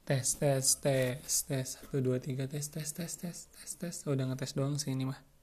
Tes tes tes tes 1 2 3 tes tes tes tes tes tes. Udah ngetes doang sih ini mah.